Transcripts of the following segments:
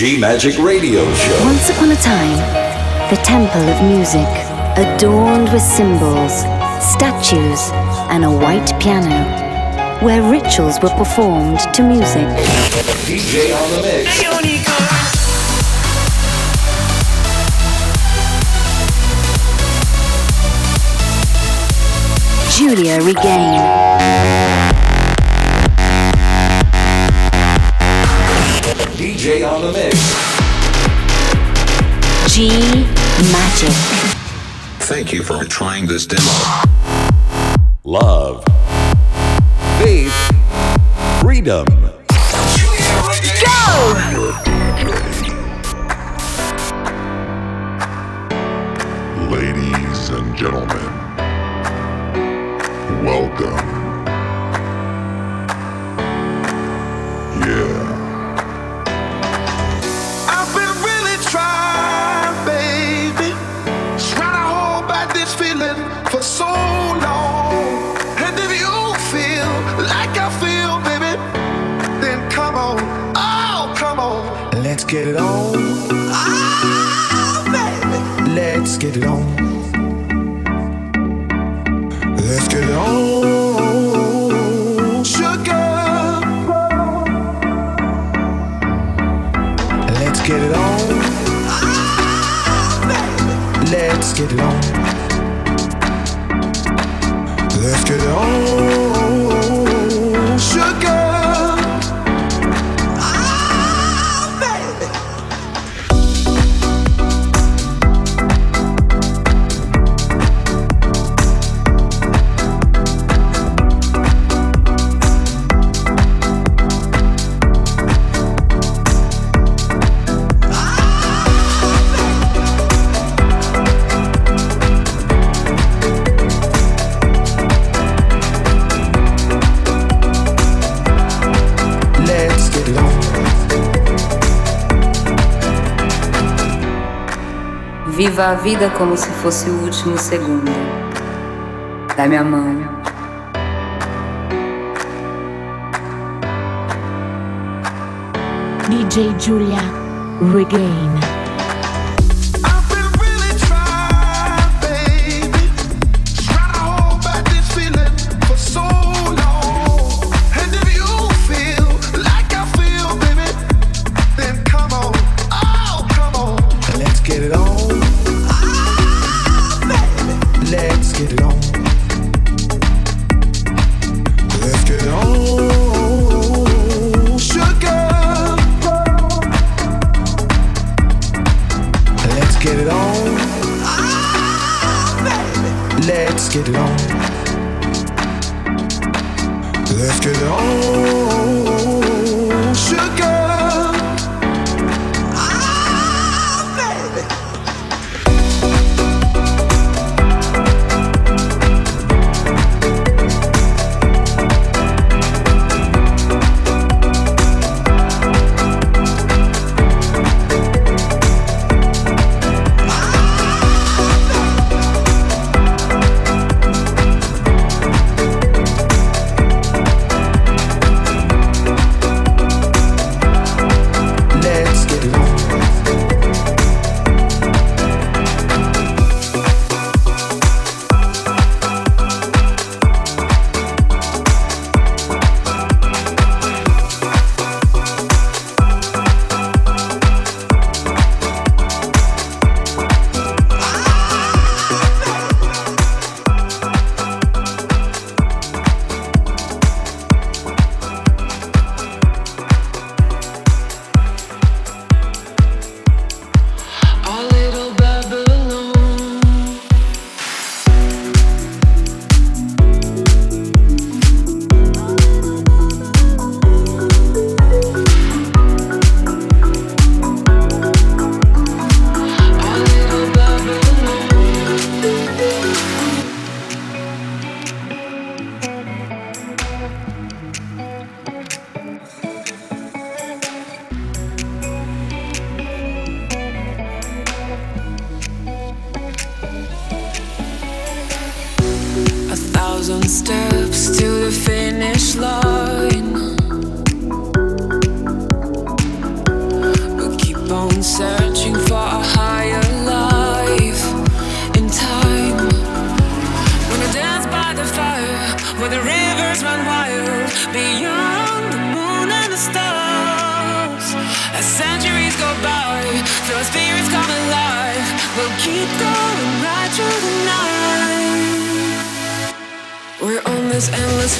G-Magic Radio Show. Once upon a time, the temple of music, adorned with symbols, statues, and a white piano, where rituals were performed to music. DJ on the mix. Giulia Regain. DJ on the mix. G-Magic. Thank you for trying this demo. Love. Faith. Freedom. Go! Ladies and gentlemen, welcome. Yeah. I've been really trying, baby, trying to hold back this feeling for so long. And if you feel like I feel, baby, then come on, oh, come on. Let's get it on. Ah, baby. Let's get it on. Let's get it on. Sugar. Let's get it on. Ah, baby. Let's get it on. Let's get it on. Sugar. Viva a vida como se fosse o último segundo. Dá-me a mão. DJ Giulia Regain. Steps to the finish line, but keep this endless.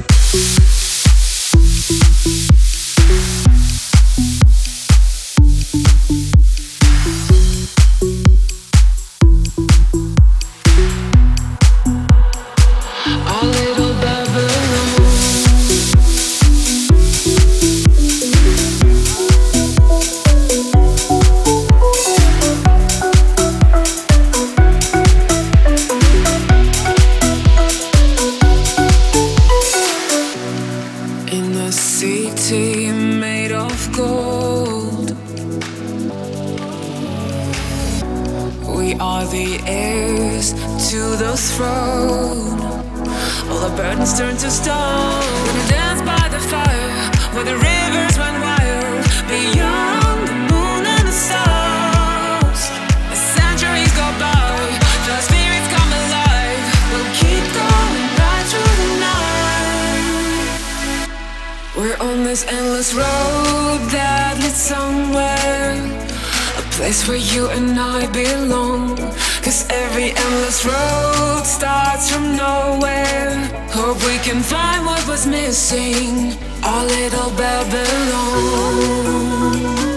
Turn to stone. Gonna dance by the fire where the rivers run wild beyond the moon and the stars. As centuries go by, the spirits come alive. We'll keep going right through the night. We're on this endless road that leads somewhere, a place where you and I belong. 'Cause every endless road starts from nowhere. Hope we can find what was missing, our little Babylon.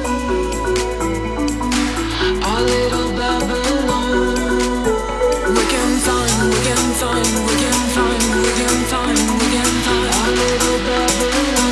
Our little Babylon. We can find, we can find, we can find, we can find, we can find our little Babylon.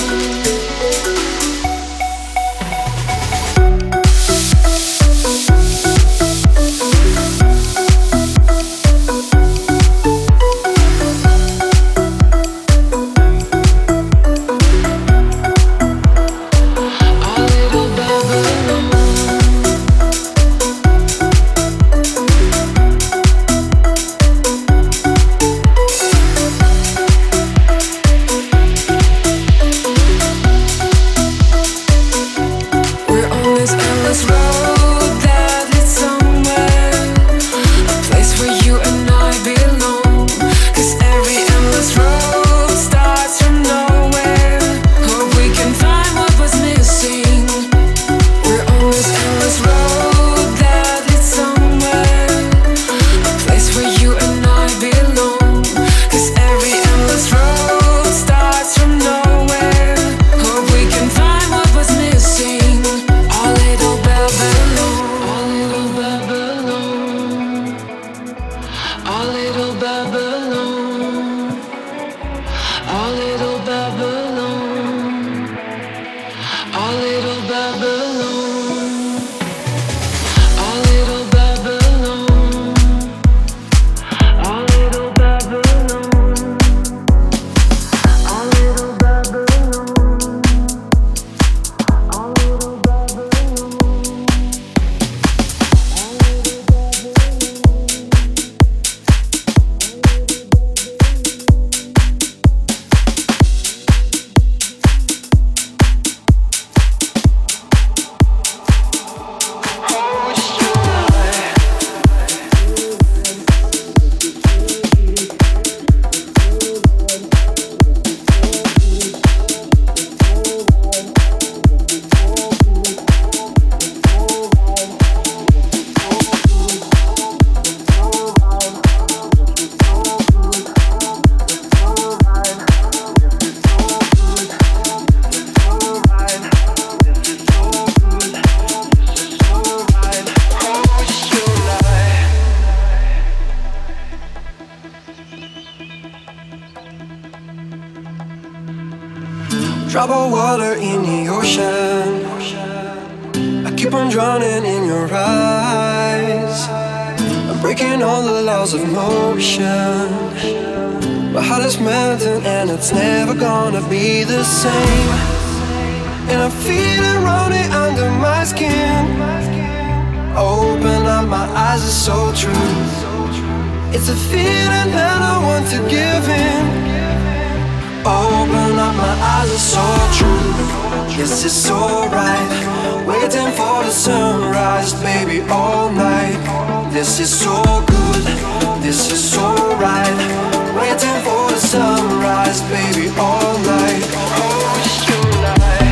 Drop of water in the ocean, I keep on drowning in your eyes. I'm breaking all the laws of motion. My heart is melting and it's never gonna be the same. And I feel it running under my skin. Open up, my eyes are so true. It's a feeling that I want to give in. Open up, my eyes are so true. This is so right. Waiting for the sunrise, baby, all night. This is so good. This is so right. Waiting for the sunrise, baby, all night. Oh, it's tonight.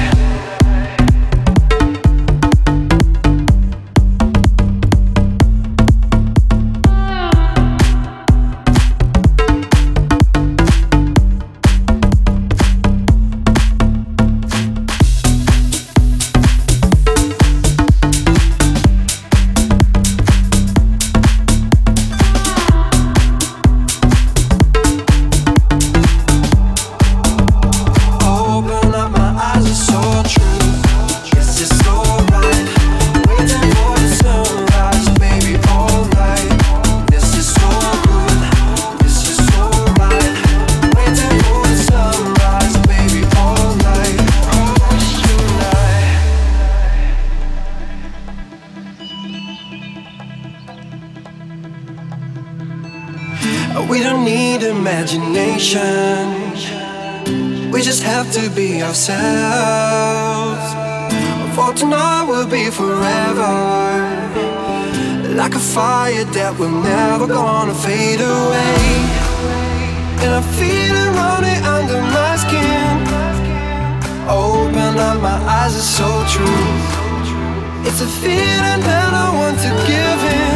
imagination. We just have to be ourselves. For tonight will be forever, like a fire that we're never gonna fade away. And I feel it running under my skin. Open up my eyes, it's so true. It's a feeling that I want to give in.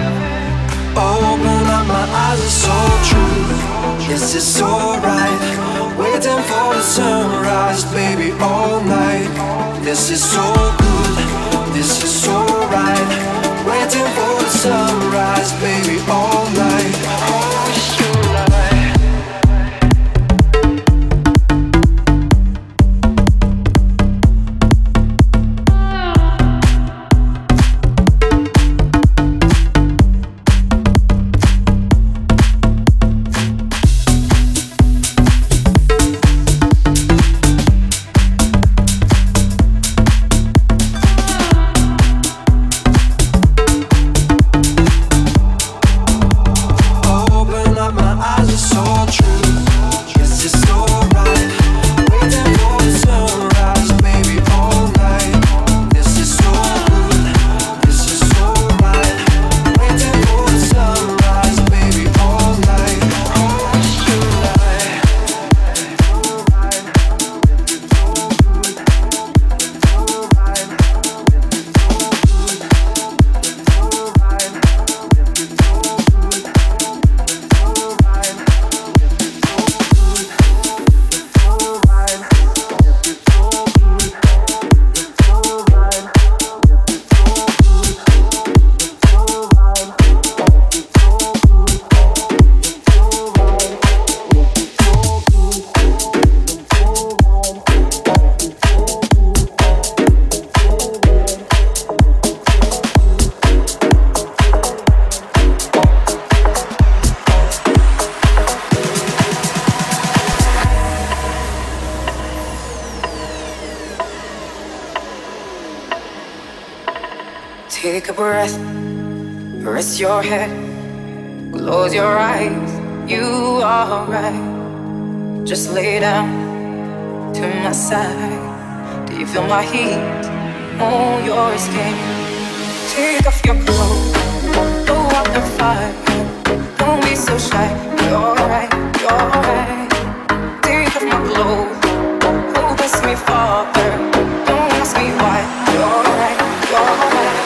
Open up my eyes, it's so true. Yes, it's alright. Waiting for the sunrise, baby, all night. This is so good, this is so right. Waiting for the sunrise, baby, all night. Oh, Take a breath, rest your head, close your eyes, you are right. Just lay down to my side. Do you feel my heat on your skin? Take off your clothes, go out the fire. Don't be so shy, you're right, you're right. Take off my clothes, oh bless me Father. Don't ask me why, you're right, you're right.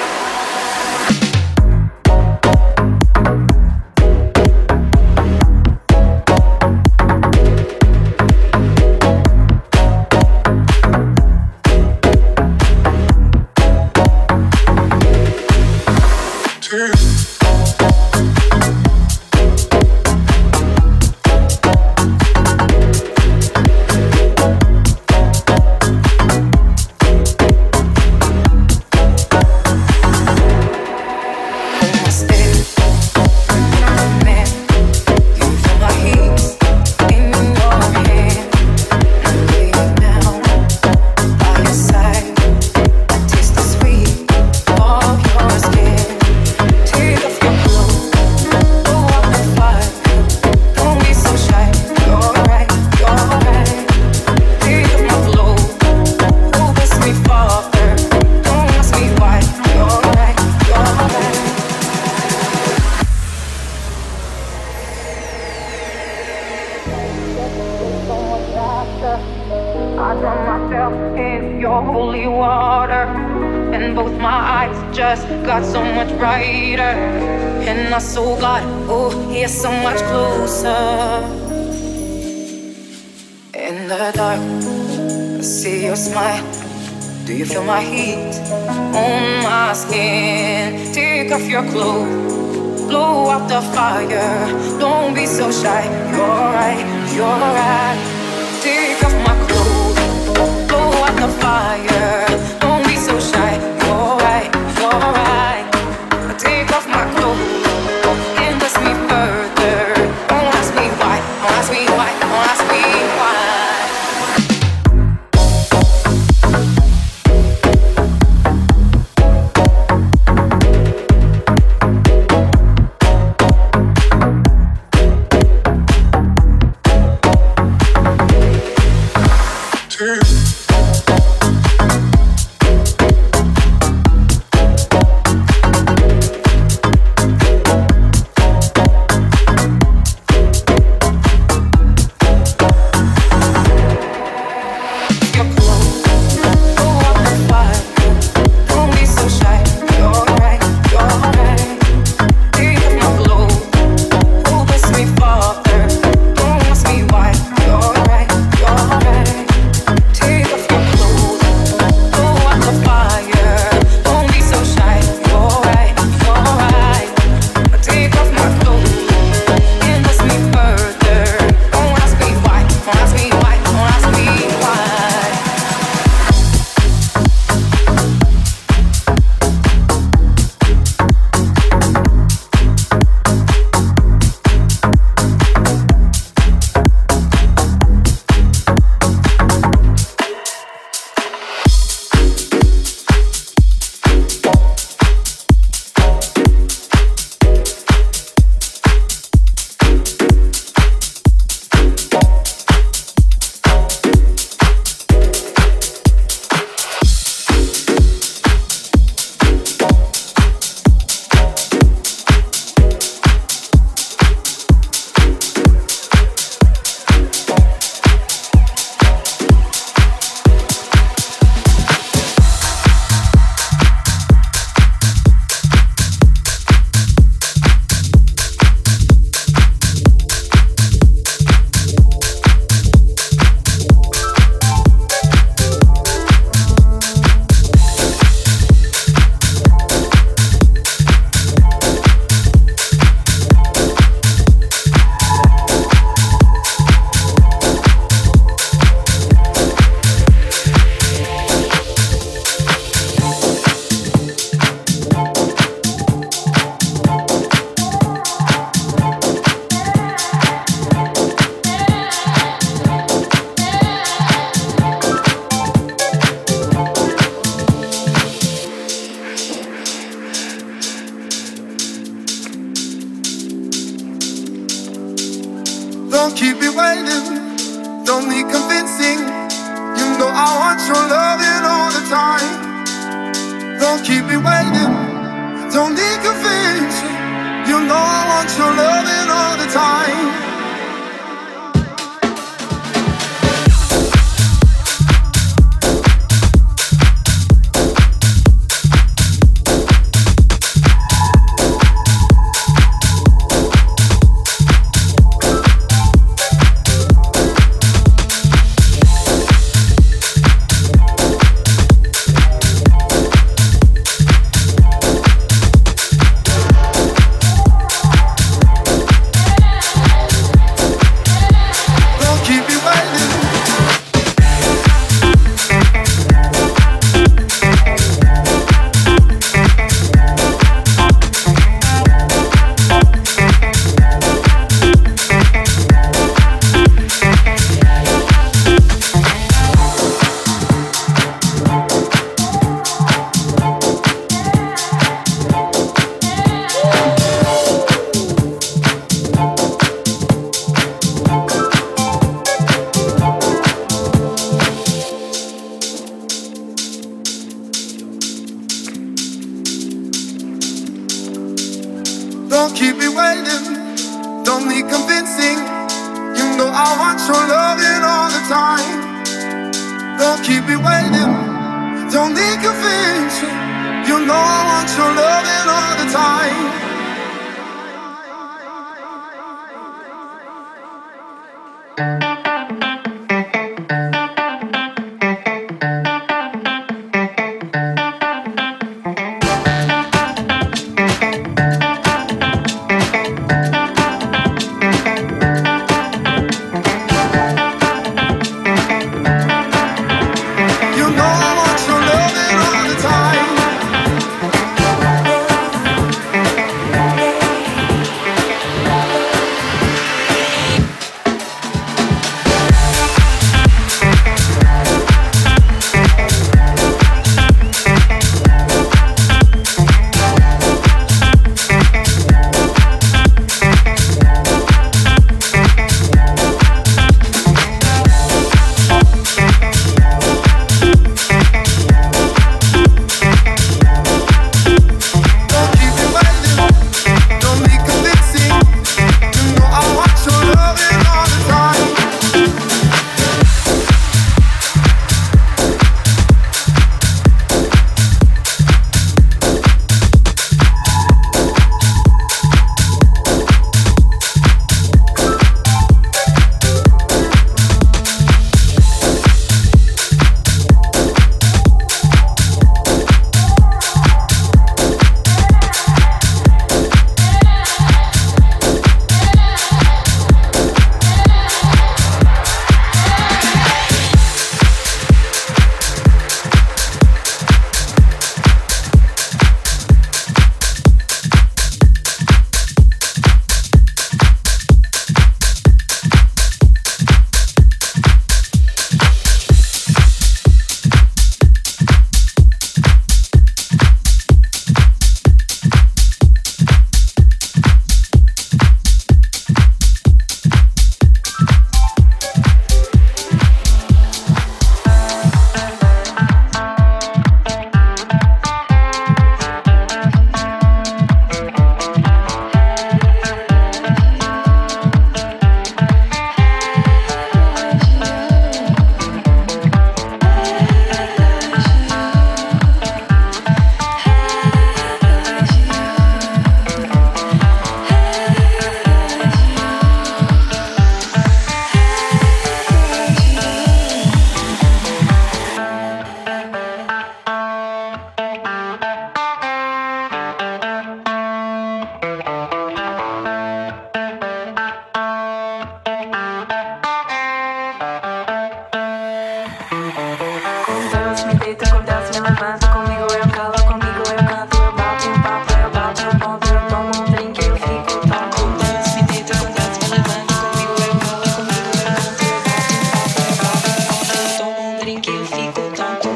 I drown myself in your holy water, and both my eyes just got so much brighter, and I saw God, oh, He's so much closer. In the dark, I see your smile. Do you feel my heat on my skin? Take off your clothes, blow out the fire. Don't be so shy, you're right, you're right. Take off my clothes, blow out the fire. Don't be so shy, you're right, you're right. Take off my clothes and bless me further. Don't ask me why, don't ask me why, don't ask me why. Don't keep me waiting, don't need convincing. You know I want your loving all the time. Don't keep me waiting, don't need convincing. You know I want your loving all the time. Don't keep me waiting, don't need convincing. You know I want your loving all the time. Don't keep me waiting, don't need convincing. You know I want your loving all the time. levanta, comigo eu calo, comigo eu canto, eu bato um papo, eu bato um ponto, eu tomo um drink, eu fico tonto. Com Deus me deito, com Deus me levanta, comigo eu calo, comigo eu canto, eu bato um papo, eu bato um ponto, eu tomo um drink, eu fico tonto.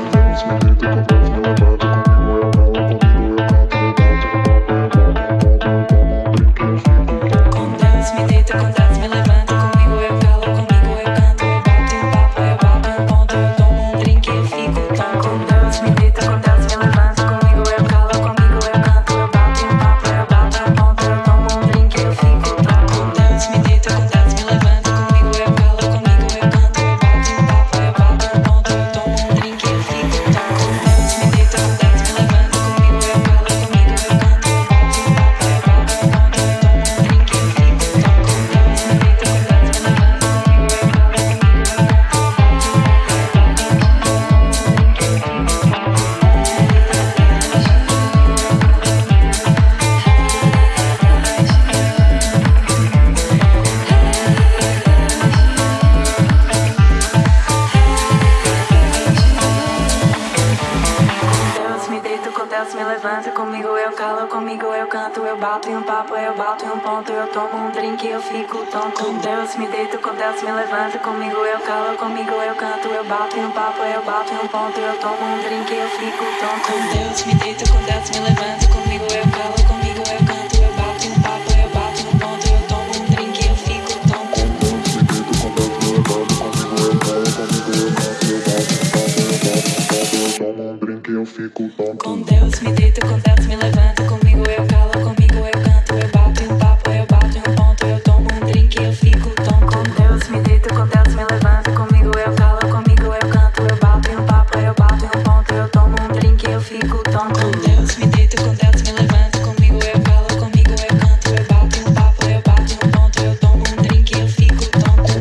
Com Deus me deito, com Deus me levanta, comigo eu calo, comigo eu canto, eu bato um papo, eu bato um ponto, eu tomo um drink, eu fico tonto. Com Deus me deito, com Deus me levanta, comigo eu calo, comigo eu canto, eu bato um papo, eu bato um ponto, eu tomo um drink, eu fico tonto. Com Deus me deito, com Deus me levanta, comigo eu calo, comigo eu canto, eu bato um papo, eu bato um ponto, eu tomo um drink, eu fico tonto. Com Deus me deito, com Deus me levanta, comigo eu calo, comigo eu canto, eu bato um papo, eu bato um ponto, eu tomo um drink, eu fico tonto. Com Deus me deito, com Deus me levanta, comigo eu calo, comigo eu canto, eu bato um papo, eu bato um ponto, eu tomo um drink, eu fico tonto. Deus me deito, com Deus me levanta, comigo eu calo, comigo eu canto, eu bato em um papo, eu bato em um ponto, eu tomo um drink, eu fico tonto. Com Deus me deito, com Deus me levanta, comigo eu calo, comigo eu canto, eu bato em um papo, eu bato em um ponto, eu tomo um drink, eu fico tonto. Com Deus me deito, com Deus me levanta, comigo eu calo, comigo eu canto, eu bato em um papo, eu bato em um ponto, eu tomo um drink, eu fico tonto. Com Deus me deito, com Deus me levanta, comigo eu calo, comigo eu canto, eu bato em um papo, eu bato em um ponto, eu tomo um drink, eu fico tonto. Com Deus me deito, com Deus me levanta, comigo eu calo, comigo eu canto, eu bato em um papo, eu bato em um ponto, eu tomo um drink, eu fico tonto. Com Deus me deito, com Deus me levanta, comigo eu calo, comigo eu canto, eu bato em um papo, eu bato em um ponto, eu tomo um drink, eu fico tonto.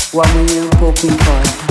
What were you hoping for?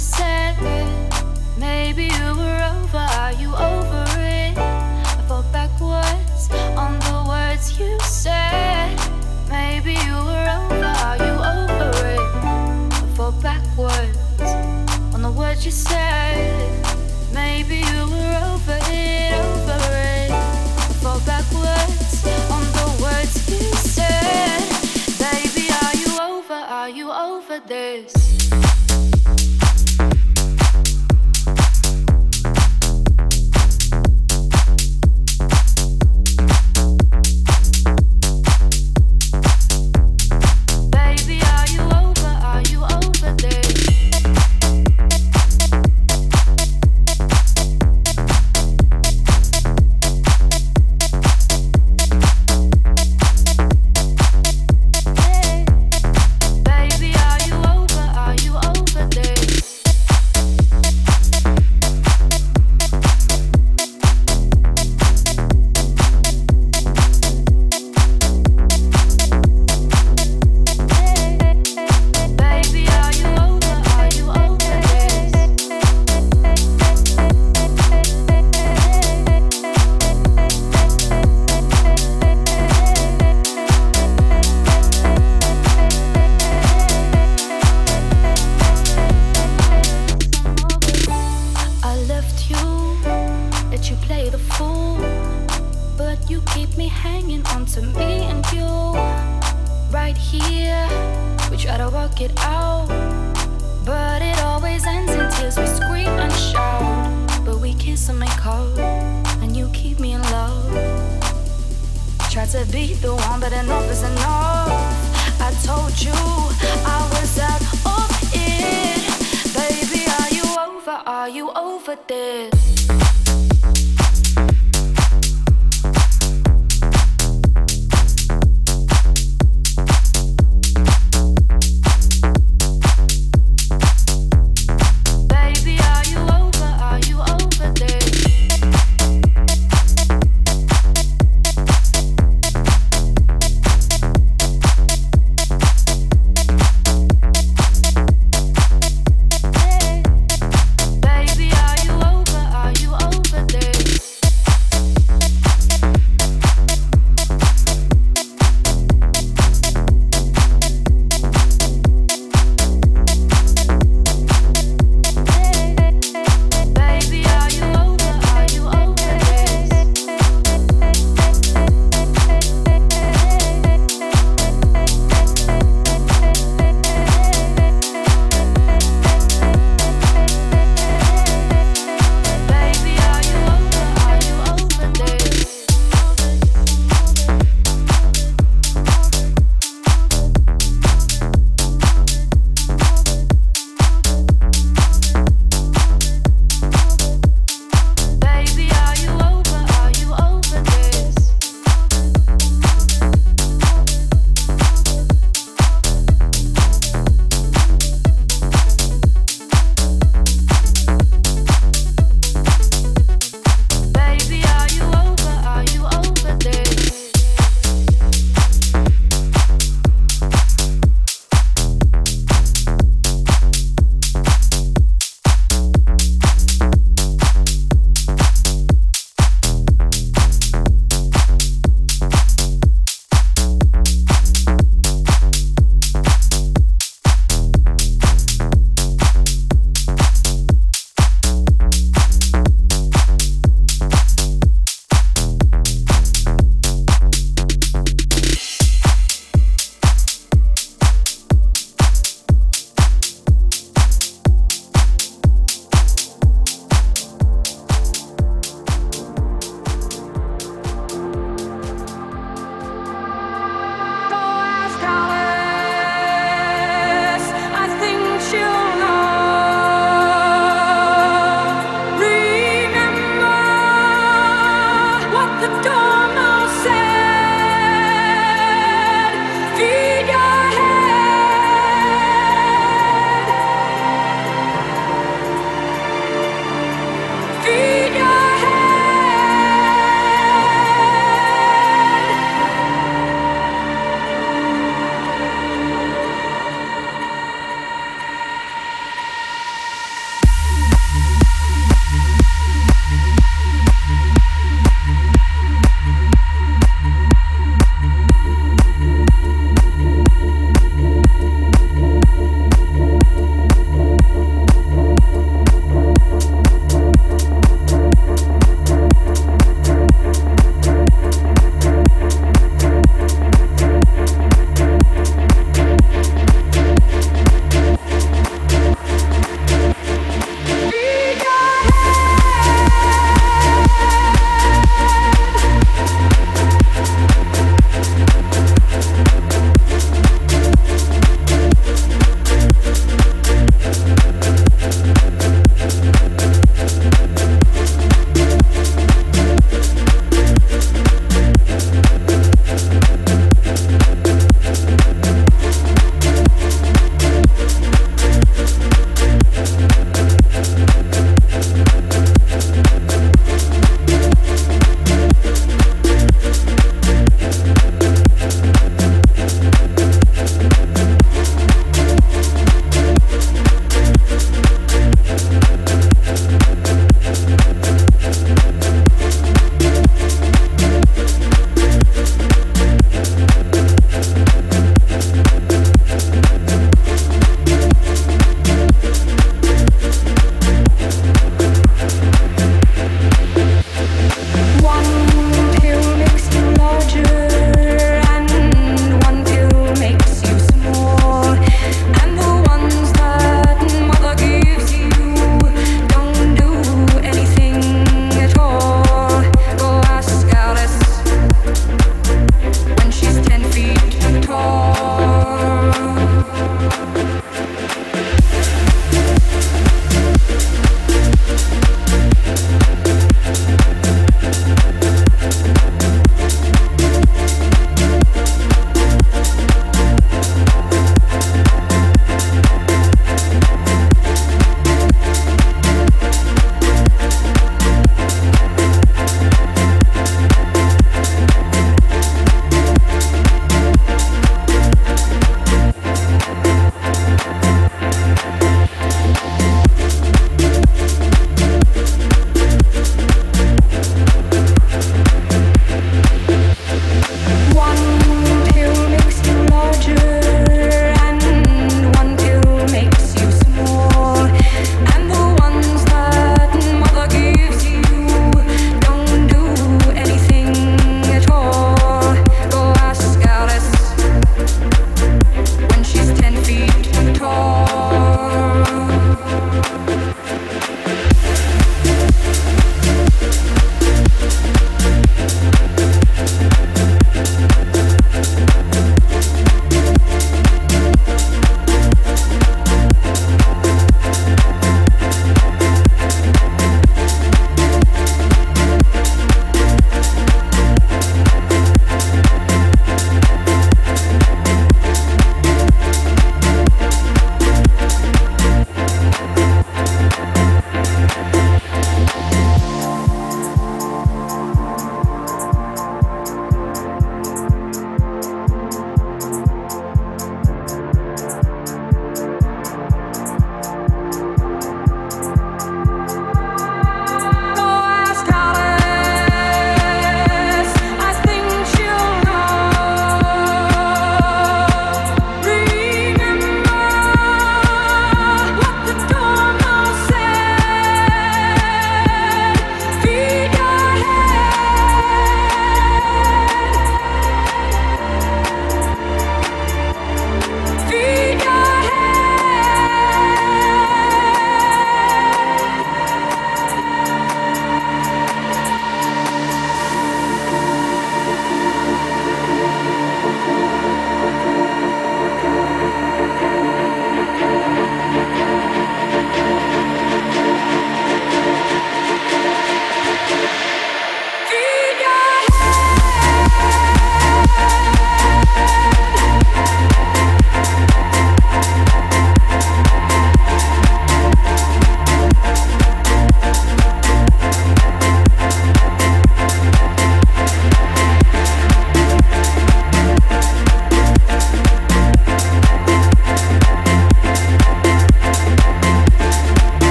said. Maybe you were over, are you over it? I fall backwards on the words you said. Maybe you were over, are you over it? I fall backwards on the words you said. Maybe you were over it, over it. I fall backwards on the words you said. Baby, are you over this? Baby, are you over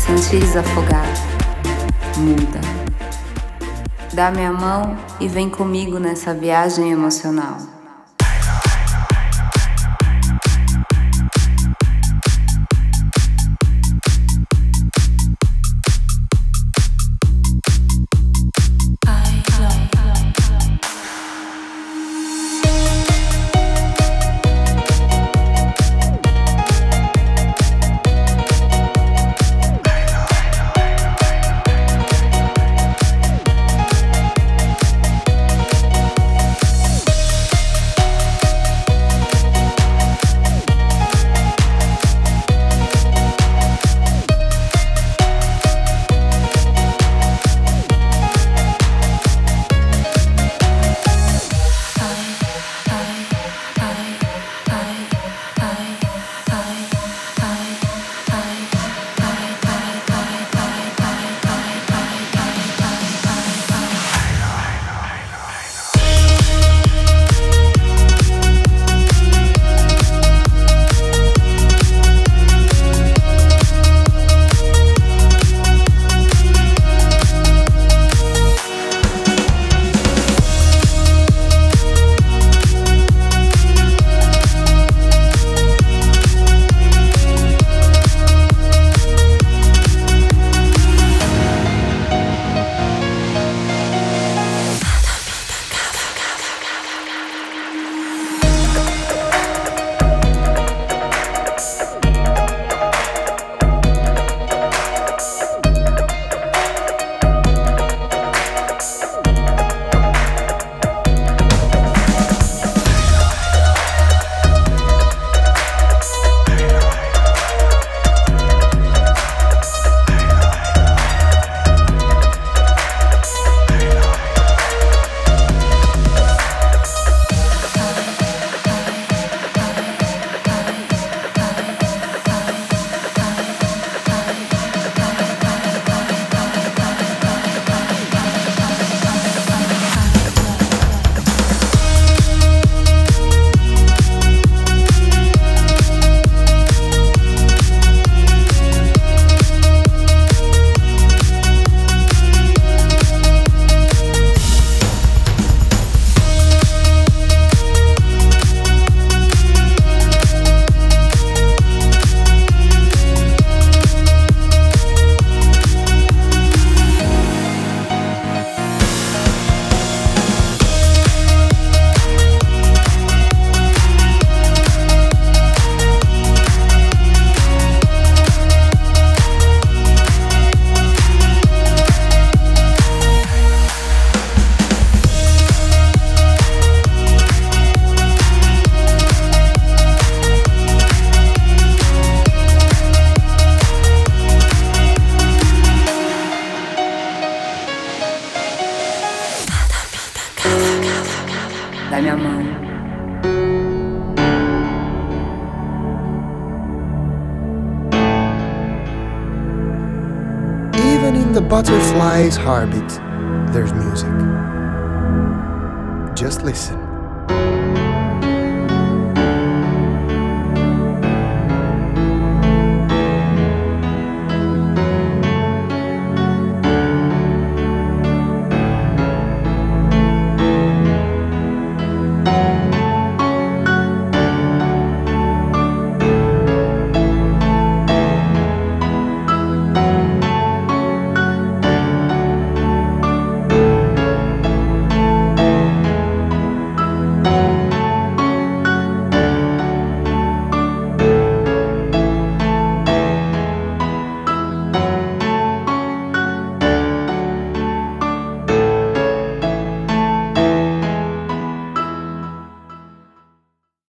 sentires afogar, muda. Dá-me a mão e vem comigo nessa viagem emocional. Dá-me a mão. Even in the butterfly's heartbeat, there's music. Just listen.